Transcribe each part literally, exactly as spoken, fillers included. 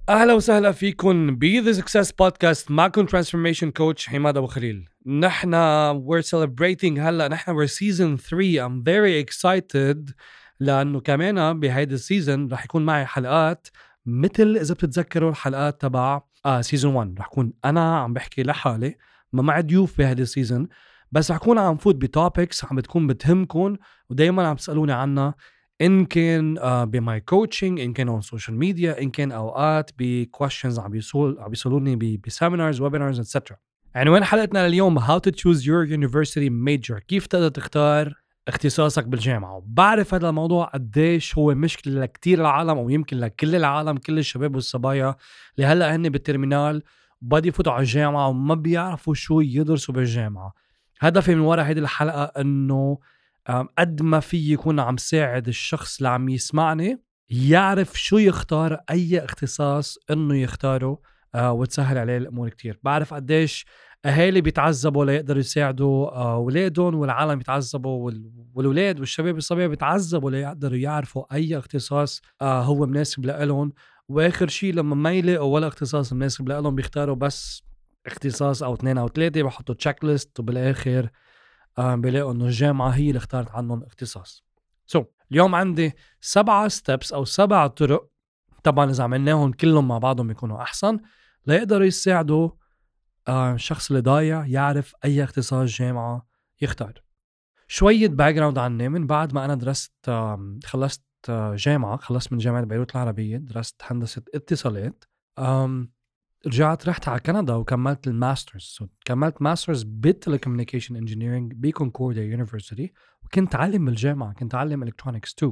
أهلا وسهلا فيكم ب The Success Podcast. معكم Transformation Coach حماد أبو خليل. نحن we're celebrating هلا نحن we're season three. I'm very excited لأنه كمان بهيدا السيزن رح يكون معي حلقات مثل إذا بتتذكروا الحلقات تبع آه season one. رح يكون أنا عم بحكي لحالي ما مع ضيوف بهيدا السيزن، بس رح يكون عم فوت بتوبكس عم بتكون بتهمكم ودايما عم تسألوني عنها، إن كان uh, بماي كوتشنج، إن كان on social media، إن كان أوقات بquestions عم بيسول عم بيسولوني بسيمينارز ويبينارز إتسترا. عنوان حلقتنا اليوم How to choose your university major، كيف تقدر تختار اختصاصك بالجامعة. وبعرف هذا الموضوع قديش هو مشكلة لكتير العالم، أو يمكن لكل العالم، كل الشباب والصبايا اللي هلأ هن بالترمينال بدي يفوتوا على الجامعة وما بيعرفوا شو يدرسوا بالجامعة. هدفي من وراء هذه الحلقة إنه قد ما في يكون عم ساعد الشخص اللي عم يسمعني يعرف شو يختار، أي اختصاص إنه يختاره، آه وتسهل عليه الأمور كتير. بعرف قديش أهالي بيتعذبوا ليقدروا يساعدوا آه أولادهم، والعالم يتعذبوا، والولاد والشباب الصبية بيتعذبوا ليقدروا يعرفوا أي اختصاص آه هو مناسب لهم. وآخر شيء لما ما يلاقوا ولا اختصاص مناسب لهم بيختاروا بس اختصاص أو اثنين أو ثلاثة، بحطوا تشيك ليست وبالآخر آه بيلاقوا انه الجامعة هي اللي اختارت عنهم اختصاص. سو so, اليوم عندي سبعة ستيبس او سبع طرق، طبعا اذا عملناهم كلهم مع بعضهم يكونوا احسن، ليقدروا يساعدوا آه الشخص اللي ضايع يعرف اي اختصاص جامعة يختار. شوية باك جراوند عني. من بعد ما انا درست آه خلصت آه جامعة خلصت من جامعة بيروت العربية، درست هندسة اتصالات. آم رجعت رحت على كندا وكملت الماسترز. so, كملت ماسترز بالتليكوميونيكيشن انجينيرينج بكونكورديا يونيفرسيتي، وكنت علم بالجامعة، كنت علم الكترونكس تو.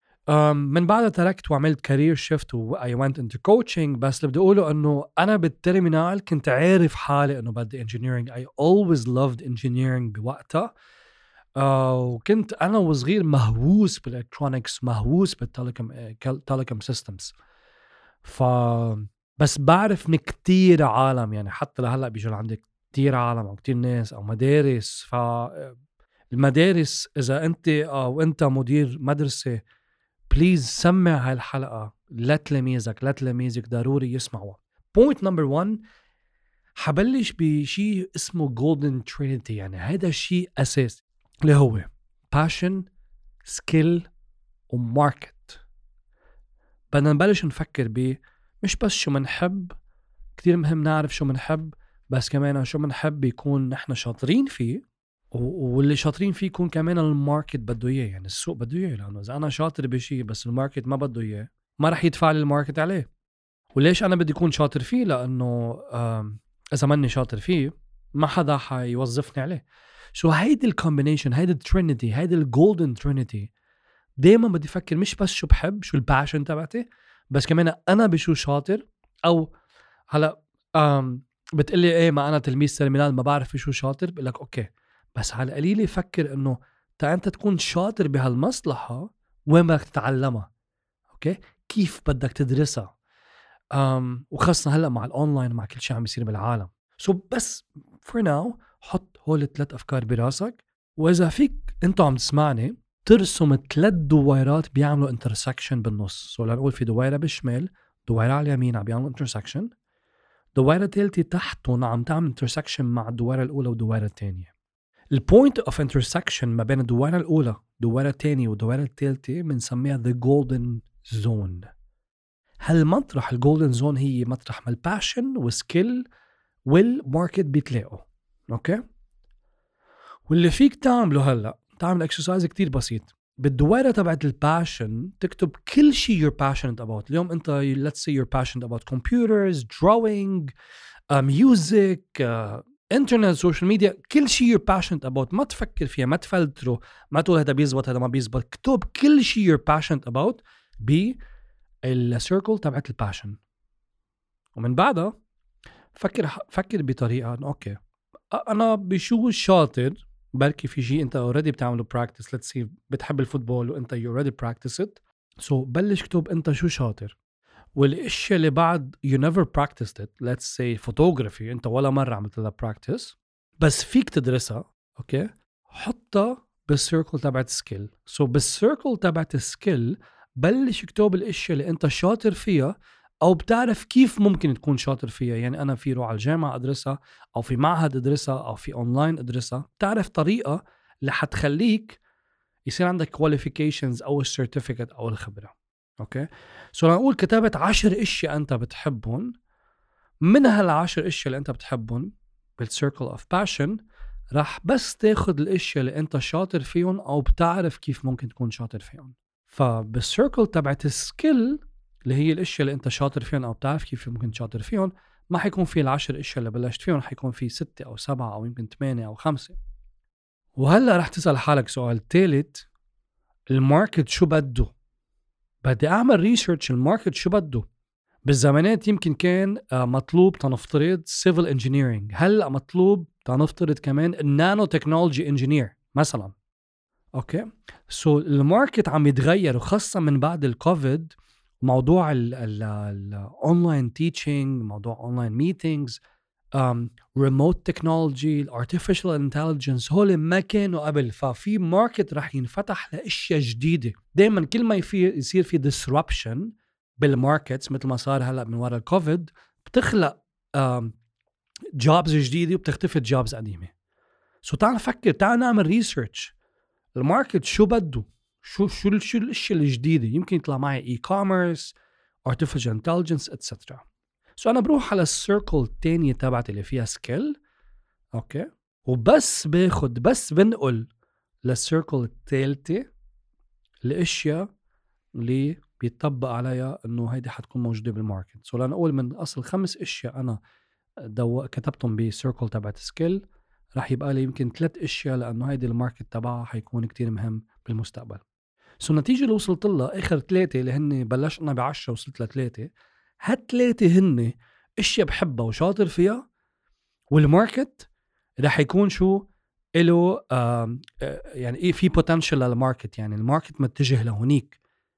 من بعدها تركت وعملت كارير شيفت و I went into coaching. بس اللي بدي اقوله انه انا بالترمينال كنت عارف حالي انه بدي انجينيرينج. I always loved engineering بوقتها. آه وكنت انا وصغير مهووس بالالكترونكس، مهووس بالتليكوم سيستمز. ف بس بعرف من كتير عالم، يعني حتى لهلا بيجوا لعندك كتير عالم او كتير ناس او مدارس. فالمدارس اذا انت او انت مدير مدرسة، بليز سمع هاي الحلقة لتلاميذك لتلاميذك ضروري يسمعوها. بوينت نمبر واحد، حبلش بشيء اسمه Golden Trinity. يعني هذا الشيء اساسي اللي هو passion, skill وmarket. بدنا نبلش نفكر ب مش بس شو منحب، كتير مهم نعرف شو منحب، بس كمان شو منحب يكون نحن شاطرين فيه، واللي شاطرين فيه يكون كمان الماركت بده اياه، يعني السوق بده اياه. لانه اذا انا شاطر بشيء بس الماركت ما بده اياه، ما رح يدفع لي الماركت عليه. وليش انا بدي اكون شاطر فيه؟ لانه اذا ماني شاطر فيه ما حدا حيوظفني عليه. شو هيدي الكومبينيشن، هيدي الترينيتي، هيدي الجولدن ترينيتي. دايما بدي افكر مش بس شو بحب، شو الباشن تبعتي، بس كمان انا بشو شاطر. او هلا أم بتقلي ايه ما انا تلميذ ترمينال ما بعرف شو شاطر، بقول لك اوكي، بس على القليل فكر انه تا انت تكون شاطر بهالمصلحه وين بدك تتعلمها، اوكي، كيف بدك تدرسها. أم وخاصه هلا مع الاونلاين مع كل شيء عم يصير بالعالم. سو so بس فور ناو حط هول الثلاث افكار براسك، واذا فيك انت عم تسمعني ترسم ثلاث دويرات بيعملوا انترسكشن بالنص. سو لنقول في دويره بالشمال، دويره على اليمين عم بيعملوا انترسكشن، دويرة ثالثة تحتهم عم تعمل انترسكشن مع الدويرة الأولى والدويرة الثانية. البوينت اوف انترسكشن ما بين الدويرة الأولى والدويرة الثانية والدويرة الثالثة بنسميها the golden zone. هالمطرح الجولدن زون هي مطرح ما الباشن والسكيل والماركت بيتلاقوا، اوكي. واللي فيك تعمله هلا تعمل اكسرسايز كتير بسيط. بالدويرة تبعت الباشن تكتب كل شيء you're passionate about. اليوم انت let's say you're passionate about computers, drawing, uh, music, uh, internet, social media. كل شيء you're passionate about ما تفكر فيها، ما تفلتره، ما تقول هذا بيزبط هذا ما بيزبط. اكتب كل شيء you're passionate about بالسيركل تبعت الباشن. ومن بعدها فكر فكر بطريقة اوكي انا بشو شاطر. بركي في شيء انت already بتعمله practice. let's say بتحب الفوتبول وانت you already practice it. so بلش كتب انت شو شاطر، والاشياء اللي بعد you never practiced it. let's say photography انت ولا مرة عملت لها practice بس فيك تدرسها، اوكي، حطها بالسيركل تبعت سكيل. so بالسيركل تبعت سكيل بلش كتب الاشياء اللي انت شاطر فيها أو بتعرف كيف ممكن تكون شاطر فيها. يعني أنا في روح على الجامعة أدرسها، أو في معهد أدرسها، أو في أونلاين أدرسها. بتعرف طريقة اللي حتخليك يصير عندك qualifications أو السيرتيفيكت أو الخبرة. أوكي، سو نقول كتابة عشر اشياء أنت بتحبهم، من هالعشر اشياء اللي أنت بتحبهم بالcircle of passion راح بس تاخد الاشياء اللي أنت شاطر فيهم أو بتعرف كيف ممكن تكون شاطر فيهم. فبالcircle تبعت السكيل اللي هي الاشياء اللي أنت شاطر فيهم أو بتعرف كيف ممكن شاطر فيهم، ما حيكون في العشر اشياء اللي بلشت فيهم، حيكون في ستة أو سبعة أو يمكن ثمانية أو خمسة. وهلأ رح تسأل حالك سؤال ثالث، الماركت شو بده؟ بدي أعمل ريسيرش الماركت شو بده. بالزمانات يمكن كان مطلوب تنفترض civil engineering، هلأ مطلوب تنفترض كمان النانو تكنولوجي انجينير مثلا. اوكي، سو so الماركت عم يتغير، وخاصة من بعد الكوفيد موضوع الاونلاين تيتشينج، موضوع اونلاين ميتينجز، ريموت تكنولوجي، الارتفيشال انتليجنس، هول ما كانوا قبل. ففي ماركت رح ينفتح لاشياء جديده. دائما كل ما يصير في disruption بالماركتس مثل ما صار هلا من وراء الكوفيد، بتخلق جوبز جديده وبتختفي جوبز قديمه. سو تعال نفكر، تعال نعمل ريسيرش الماركت شو بده، شو شو شو الاشياء الجديده. يمكن يطلع معي اي كوميرس، artificial intelligence اتسترا. سو انا بروح على السيركل الثانيه تبعتي اللي فيها سكيل، اوكي، وبس باخد بس بنقل للسيركل الثالثه الاشياء اللي بيطبق عليها انه هيدي حتكون موجوده بالماركت. سو لنقول من اصل خمس اشياء انا دو كتبتهم بسيركل تبعت سكيل، راح يبقى لي يمكن ثلاث اشياء لانه هيدي الماركت تبعها حيكون كتير مهم بالمستقبل. سو النتيجه اللي وصلت لها اخر ثلاثه اللي هن بلشنا بعشرة وصلت لثلاثه، هالثلاثه هن اشياء بحبها وشاطر فيها، والماركت راح يكون شو له آه يعني ايه في بوتنشل للماركت، يعني الماركت متجه لهونيك.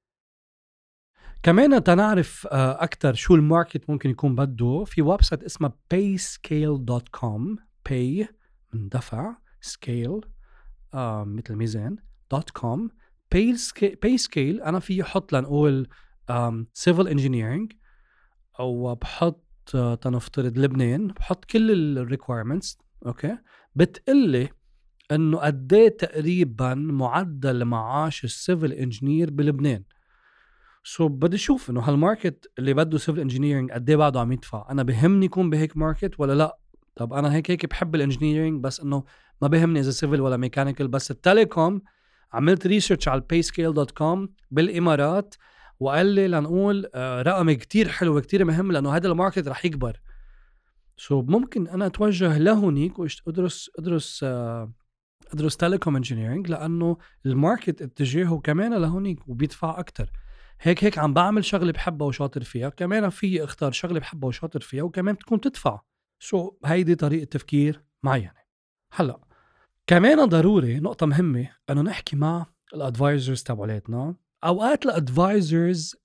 كمان تنعرف آه اكثر شو الماركت ممكن يكون بده، في ويب سايت اسمه payscale دوت كوم، pay من دفع، scale آه مثل ميزان دوت كوم. payscale انا في احط لنقول civil engineering، او بحط آه تنفترض لبنان، بحط كل الريكويرمنتس، اوكي، بتقلي انه قديه تقريبا معدل معاش السيفل انجينير بلبنان. سو so, بدي اشوف انه هالماركت اللي بده سيفل انجينيرينج قد ايه بعده عم يدفع. انا بهمني يكون بهيك ماركت ولا لا؟ طب انا هيك هيك بحب الانجينيرينج، بس انه ما بهمني اذا سيفل ولا ميكانيكال. بس التليكوم عملت ريسيرش على payscale دوت كوم بالامارات، وقال لي لنقول آه رقم كتير حلو كتير مهم، لانه هذا الماركت رح يكبر. سو so, ممكن انا اتوجه لهونيك وادرس ادرس آه ادرس تليكوم انجينيرينج، لانه الماركت اتجاهه كمان لهونيك وبيدفع اكتر. هيك هيك عم بعمل شغله بحبها وشاطر فيها، كمان في اختار شغله بحبها وشاطر فيها وكمان بتكون تدفع. سو so, هيدي طريقه تفكير معينه. هلا كمان ضروري نقطه مهمه انه نحكي مع الادفايزرز تبعولاتنا. اوقات الادفايزرز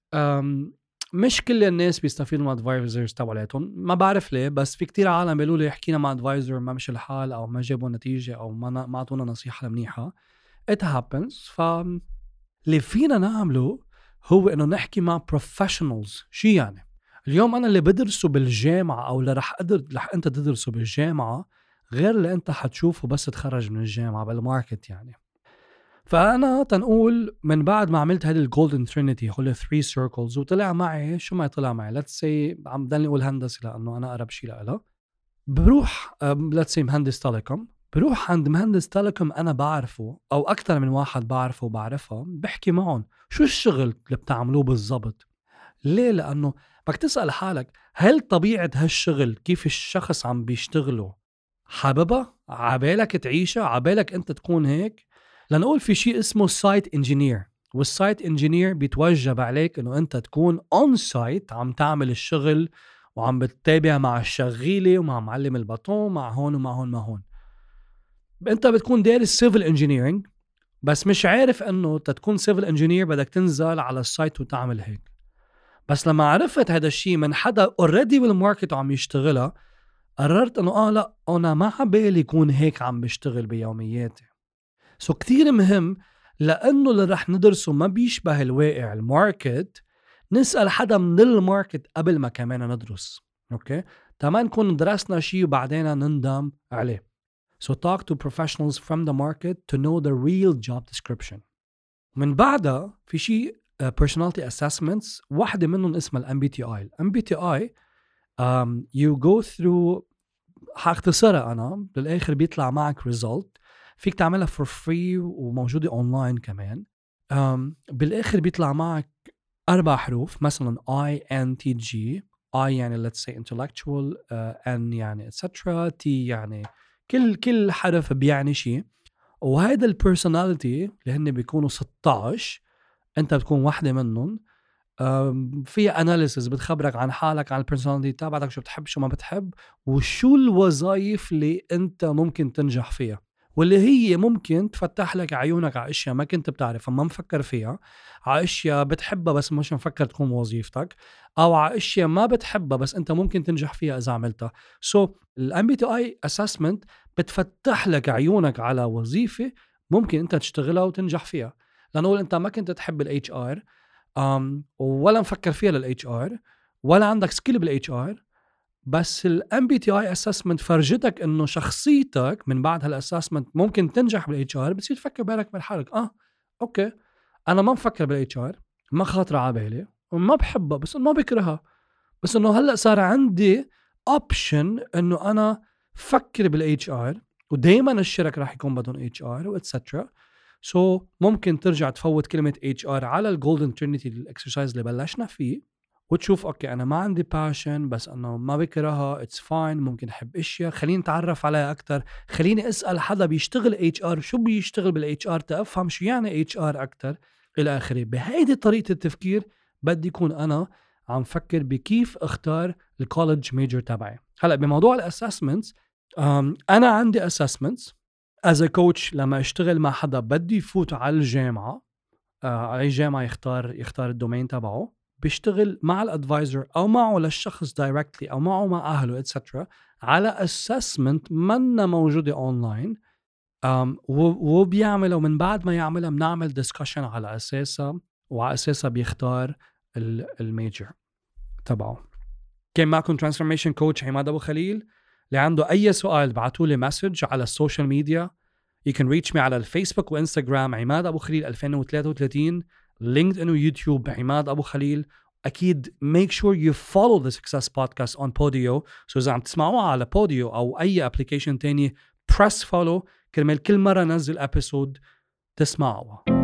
مش كل الناس بيستفيدوا من الادفايزرز تبعولاتهم، ما بعرف ليه، بس في كتير عالم بيقولوا لي حكينا مع ادفايزر ما مش الحال، او ما جابوا نتيجه، او ما ما اعطونا نصيحه منيحه. it happens. ف اللي فينا نعمله هو انه نحكي مع بروفيشنالز. شو يعني؟ اليوم انا اللي بدرسه بالجامعه او اللي رح قدر رح انت تدرسه بالجامعه غير اللي انت حتشوفه بس تخرج من الجامعه بالماركت يعني. فانا تنقول من بعد ما عملت هذه الجولدن ترينيتي، هول ثري سيركلز، وطلع معي شو ما طلع معي، ليتس سي عم ضلني اقول هندسه لانه انا اقرب شيء لها، بروح ليتس سي مهندس تيليكوم، بروح عند مهندس تيليكوم انا بعرفه او اكثر من واحد بعرفه وبعرفها، بحكي معهم شو الشغل اللي بتعملوه بالضبط. ليه؟ لانه بدك تسال حالك هل طبيعه هالشغل كيف الشخص عم بيشتغله حاببها؟ عبالك تعيشها؟ عبالك انت تكون هيك؟ لنقول في شيء اسمه سايت انجينير، والسايت انجينير بيتوجب عليك انه انت تكون اون سايت عم تعمل الشغل وعم بتتابع مع الشغيله ومع معلم البطون مع هون ومع هون مع هون. انت بتكون دارس سيفل انجينيرينج بس مش عارف انه تكون سيفل انجينير بدك تنزل على السايت وتعمل هيك. بس لما عرفت هذا الشيء من حدا اوريدي بالماركت وعم يشتغلها، قررت انه اه لا انا ما عبالي يكون هيك عم بشتغل بيومياتي. سو كتير مهم، لانه اللي رح ندرسه ما بيشبه الواقع الماركت، نسأل حدا من الماركت قبل ما كمان ندرس. أوكي تما نكون درسنا شيء وبعدين نندم عليه. So talk to professionals from the market to know the real job description. من بعدها في شيء uh, personality assessments، واحدة منهم اسمها ال إم بي تي آي. ال إم بي تي آي um, you go through، هاختصرها أنا بالآخر بيطلع معك result فيك تعملها for free وموجودة online كمان. um, بالآخر بيطلع معك أربع حروف، مثلا I N T G. I يعني let's say intellectual، uh, N يعني et cetera، T يعني كل كل حرف بيعني شيء. وهذا البيرسوناليتي اللي هن بيكونوا ستة عشر، انت بتكون واحدة منهم. فيها اناليسز بتخبرك عن حالك، عن البيرسوناليتي تبعك، شو بتحب شو ما بتحب، وشو الوظائف اللي انت ممكن تنجح فيها، واللي هي ممكن تفتح لك عيونك على اشياء ما كنت بتعرفها، ما مفكر فيها، على اشياء بتحبها بس مش مفكر تكون وظيفتك، او على اشياء ما بتحبها بس انت ممكن تنجح فيها اذا عملتها. سو ال إم بي تي آي assessment بتفتح لك عيونك على وظيفة ممكن انت تشتغلها وتنجح فيها. لانه انت ما كنت تحب ال إتش آر um, ولا مفكر فيها لل إتش آر ولا عندك سكيل بال إتش آر، بس ال إم بي تي آي assessment فرجتك انه شخصيتك من بعد هالاسسمنت ممكن تنجح بال إتش آر. بتصير تفكر بالك من حالك، اه اوكي انا ما مفكر بال إتش آر، ما خاطر على بالي وما بحبها بس ما بكرهها، بس انه هلا صار عندي اوبشن انه انا فكر بال إتش آر، ودائما الشركة راح يكون بدهم إتش آر واتسترا. سو so, ممكن ترجع تفوت كلمة إتش آر على الجولدن ترينيتي الاكسرسايز اللي بلشنا فيه، وتشوف اوكي انا ما عندي باشن بس انه ما بكرهها، اتس فاين، ممكن احب اشياء، خليني اتعرف عليها اكثر، خليني اسال حدا بيشتغل إتش آر شو بيشتغل بالإتش آر تفهم شو يعني إتش آر اكثر الى اخره. بهيدي طريقة التفكير بدي يكون انا عم فكر بكيف اختار الكوليدج ميجر تبعي. هلا بموضوع الاسسمنتس، انا عندي اسسمنتس از ا كوتش لما اشتغل مع حدا بدي يفوت على الجامعه، على اي جامعه يختار يختار الدومين تبعه، بيشتغل مع الادفايزر او معه للشخص دايركتلي او معه مع اهله اتسترا على اسسمنت منا موجوده اونلاين، وبيعملها، ومن بعد ما يعملها بنعمل ديسكشن على اساسها، وعلى اساسها بيختار الميجر تبعه. كان معكم ترانسفورميشن كوتش عماد ابو خليل. اللي عنده اي سؤال بعتوا لي مسج على السوشيال ميديا. You can reach me على الفيسبوك وانستغرام عماد ابو خليل ألفين وثلاثة وثلاثين، لينكدين ويوتيوب عماد ابو خليل. اكيد make sure you follow the success podcast on Podio. so اذا عم تسمعوها على Podio او اي ابلكيشن تاني press follow كرمال كل مره نزل ابيسود تسمعوها.